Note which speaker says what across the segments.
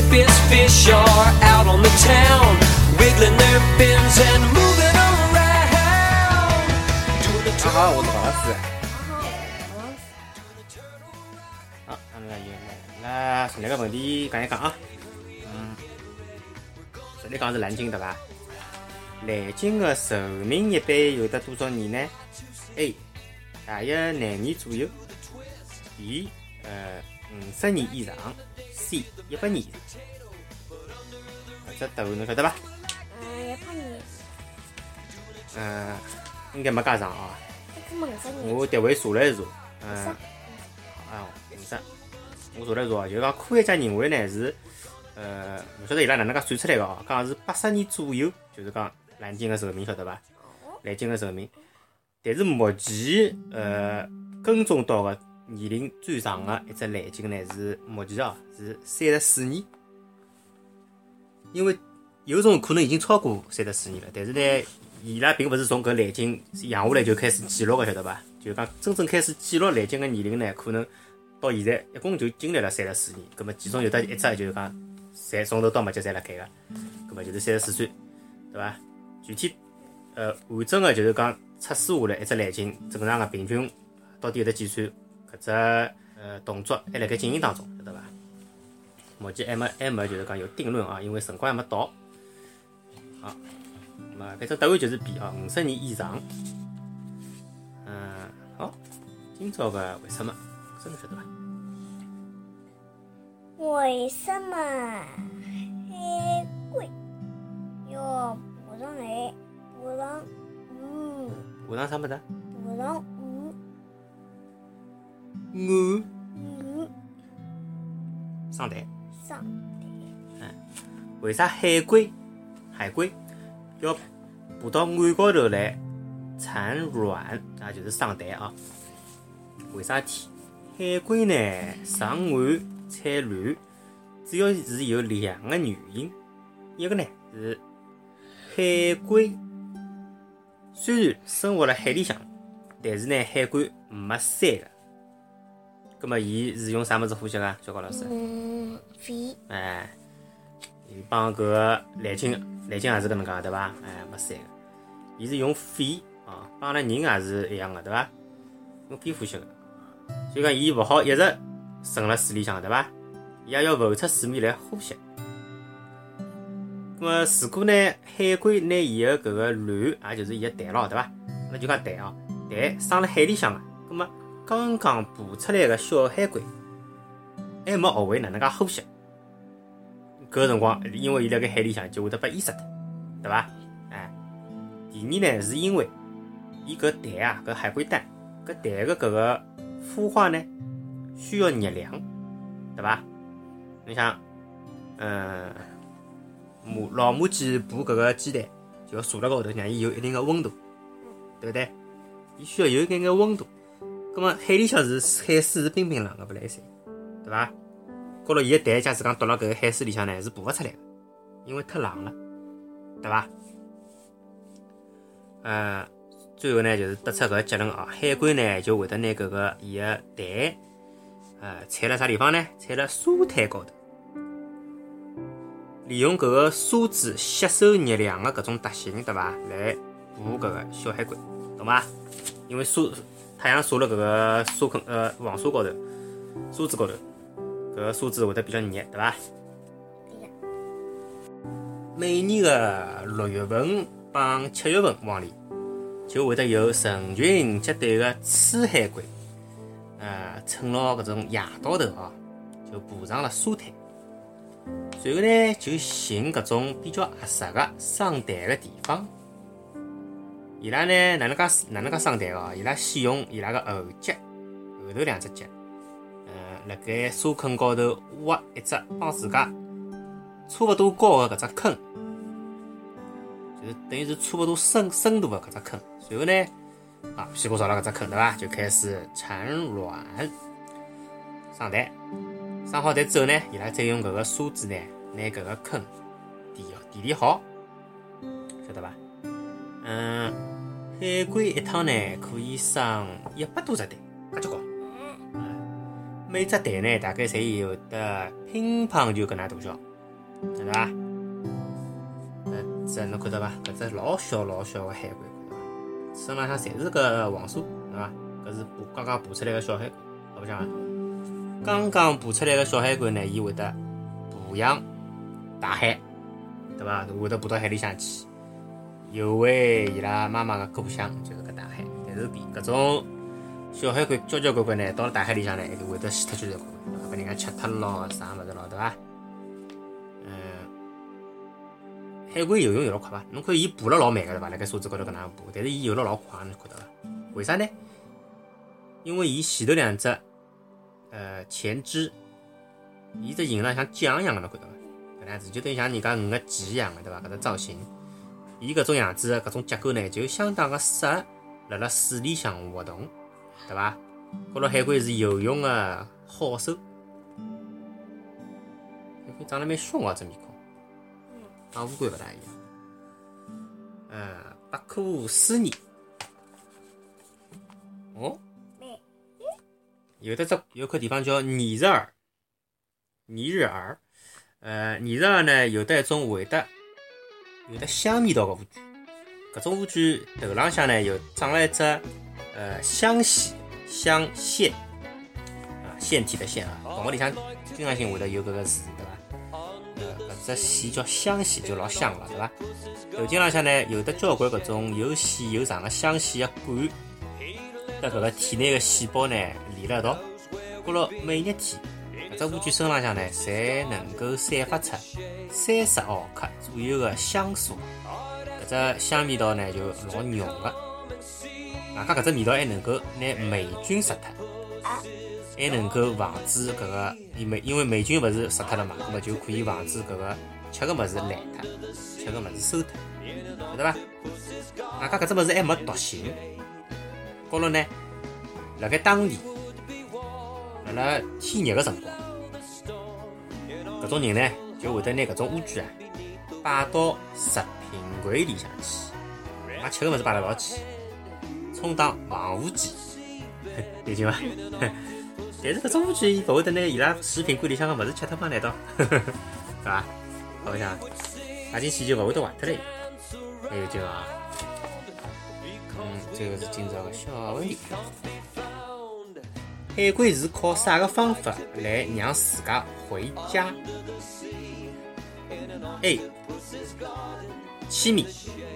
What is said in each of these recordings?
Speaker 1: Mississippi's fish are out on the town, wiggling their fins and moving around.
Speaker 2: 大家好，我是王老师。好，那么来从那个问题讲一讲啊。这里讲是蓝鲸对吧？蓝鲸的寿命一般有得多少年呢 ？A. 大约9年左右。B. 50年以上。C. 100年以上。这答案侬晓得吧
Speaker 3: 100年。
Speaker 2: 应该没加长啊。
Speaker 3: 50年。
Speaker 2: 我单位查了一查，50。我查了一查，就讲科学家认为呢是，勿晓得伊拉哪能介算出来个哦，讲是80年左右，就是讲蓝鲸个寿命，晓得伐？蓝鲸个寿命，但是目前跟踪到个年龄最长个一只蓝鲸呢是目前是34年，因为有种可能已经超过34年了，但是呢，伊拉并勿是从搿蓝鲸养下来就开始记录个，晓得伐？就讲真正开始记录蓝鲸个年龄呢，可能到现在一共就经历了34年，葛末其中有得一只就是讲，侪从头到末节侪辣盖个，葛末就是34岁，对伐？具体完整个就是讲测试下来一只蓝鲸正常个平均到底有得几岁，搿只动作还辣盖进行当中，晓得伐？目前还没就是讲有定论啊，因为辰光还没到。好，那么反正答案就是 B 啊，50年以上。好，今朝个为什么？真的晓得伐？
Speaker 3: 为什么海龟要爬上来？爬上鱼？
Speaker 2: 爬上啥物事？
Speaker 3: 爬上鱼？
Speaker 2: 鱼
Speaker 3: 鱼
Speaker 2: 上台。
Speaker 3: 上台。
Speaker 2: 为啥海龟要爬到岸高头来产卵啊？就是上台啊？为啥体？海龟呢上岸产卵，主要是有2个原因。一个呢是海龟虽然生活辣海里向，但是呢海龟没鳃个。葛末伊是用啥物事呼吸个？小高老师？
Speaker 3: 肺。
Speaker 2: 伊帮搿个蓝鲸也是搿能介对伐？没鳃个，伊是用肺啊，帮阿拉人也是一样个对伐？用肺呼吸个。所以讲，伊勿好一直沉辣水里向，对伐？伊也要浮出水面来呼吸。那么，如果呢，海龟拿伊个搿个卵，也就是伊个蛋咯，对伐？那就讲蛋啊，蛋生辣海里向个，那么刚刚爬出来个小海龟，还没学会哪能介呼吸。搿个辰光，因为伊辣盖海里向就会得被淹死脱，对伐？第二呢，是因为伊搿蛋啊，搿海龟蛋，搿蛋个搿个孵化呢，需要热量，对伐？你想，老母鸡孵搿个鸡蛋，就要坐辣高头，让伊有一定的温度，对不对？伊需要有一眼温度。葛末海里向是海水是冰冰冷个，勿来塞，对伐？高头伊个蛋，假使讲丢辣搿个海水里向呢，是爬勿出来个，因为太冷了，对伐？最后呢，就是得出搿个结论啊，海龟呢就会得拿搿个伊个蛋，产辣啥地方呢？产辣沙滩高头，利用搿个沙子吸收热量的搿种特性，对伐？来捕搿个小海龟，懂伐？因为太阳晒辣搿个沙坑黄沙高头，沙子高头，搿个沙子会得比较热，对伐？每年的6月份帮7月份往里，就会得有成群结队的雌海龟，趁牢搿种夜到头啊，就爬上了沙滩，随后呢就寻搿种比较合适的生蛋的地方。伊拉呢哪能介生蛋哦？伊拉先用伊拉的后脚，后头2只脚，辣盖沙坑高头挖一只帮自家差勿多高的搿只坑，就是等于是差勿多深度的搿只坑。随后呢，屁股朝了搿只坑，对伐？就开始产卵生蛋。生好蛋之后呢，伊拉再用搿个沙子呢，拿搿个坑填好，晓得伐？海龟一趟呢可以生100多只蛋，介结棍。每只蛋呢大概侪有得乒乓球搿能大小， 对伐？这侬看到伐？搿只老小老小个海龟，看到伐？身浪向侪是个黄沙，对伐？搿是刚刚爬出来个小海龟，好白相伐？刚刚爬出来个小海龟呢，伊会得爬向大海，对伐？会得爬到海里向去，游回伊拉妈妈个故乡，就是搿大海。但是搿种小海龟交交关关呢，到了大海里向呢，就会得死脱交交关关，被人家吃脱咯，啥物事咯，对伐？海龟游泳游了快伐？侬看伊爬了老慢个对伐？辣盖沙子高头搿能爬，但是伊游了老快，侬看到伐？为啥呢？因为伊前头两只前肢，伊只形状像桨一样个，侬看到伐？搿能样子就等于像人家鱼个鳍一样个，对伐？搿只造型，伊搿种样子搿种结构呢，就相当个适合辣辣水里向活动，对伐？高头海龟是游泳个好手，海龟长得蛮凶个只面孔。帮乌龟勿大一样。百科思议。哦，有块地方叫拟日耳。拟日耳呢有得一种有得香味道个乌龟。搿种乌龟头浪向呢有长了一只香线，香线线体的线啊，动物里向经常性会得有搿个字，对伐？搿只线叫香线，就老香了，对伐？头颈浪向呢有得交关搿种又细又长的香线个管，跟搿个体内个细胞呢连了一道。过了每日天，搿只乌龟身浪向呢，侪能够散发出30毫克左右个香素。搿只香味道呢就老浓个，外加搿只味道还能够拿霉菌杀脱。还能够防止搿个，因为霉菌勿是杀脱了嘛，那么就可以防止搿个吃个物事烂脱，吃个物事馊脱，晓得伐？外加搿只物事还没毒性，高头呢，辣盖当地，辣天热个辰光，搿种人呢就会得拿搿种乌龟啊摆到食品柜里向去，把吃个物事摆辣一道去，充当防腐剂，有劲伐？但是搿种乌龟伊勿会得拿伊拉食品柜里向个物事吃脱嘛？难道？对伐？好白相，摆进去就勿会得坏脱了。还有劲伐？这个是今朝个小问题。海龟是靠啥个方法来让自家回家 ？A. 气密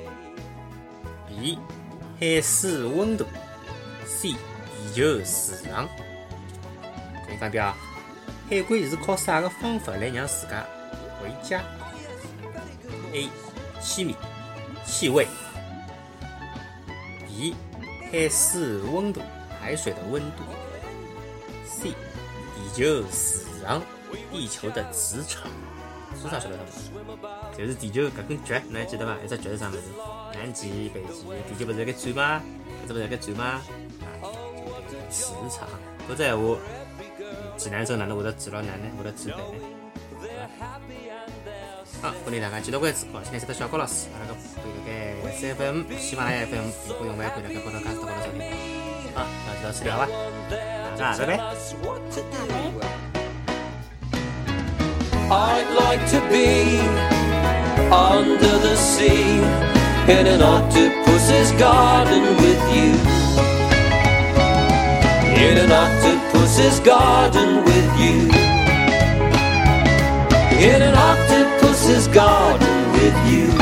Speaker 2: B. 海水温度 C. 地球磁场。再讲一遍啊，海龟是靠啥个方法来让自家回家 ？A. 气密，气味 B. 海水温度，海水的温度 C. 地球磁场，地球的磁场。是啥晓得吗？就是地球搿根脚，侬还记得伐？一只脚是啥物事？南极、北极，地球勿是辣盖转吗？搿只勿是辣盖转吗？啊，就磁场。搿只闲话，济南州哪能会得记牢哪能会得记背呢？好，欢迎大家继续关注哦，现在是小高老师，阿拉个可以辣盖3FM、喜马拉雅 FM、苹果用户可以辣盖高头加高头收听。好，那就到此了，好吧？大家拜拜。
Speaker 1: I'd like to be under the sea in an octopus's garden with you. In an octopus's garden with you. In an octopus's garden with you.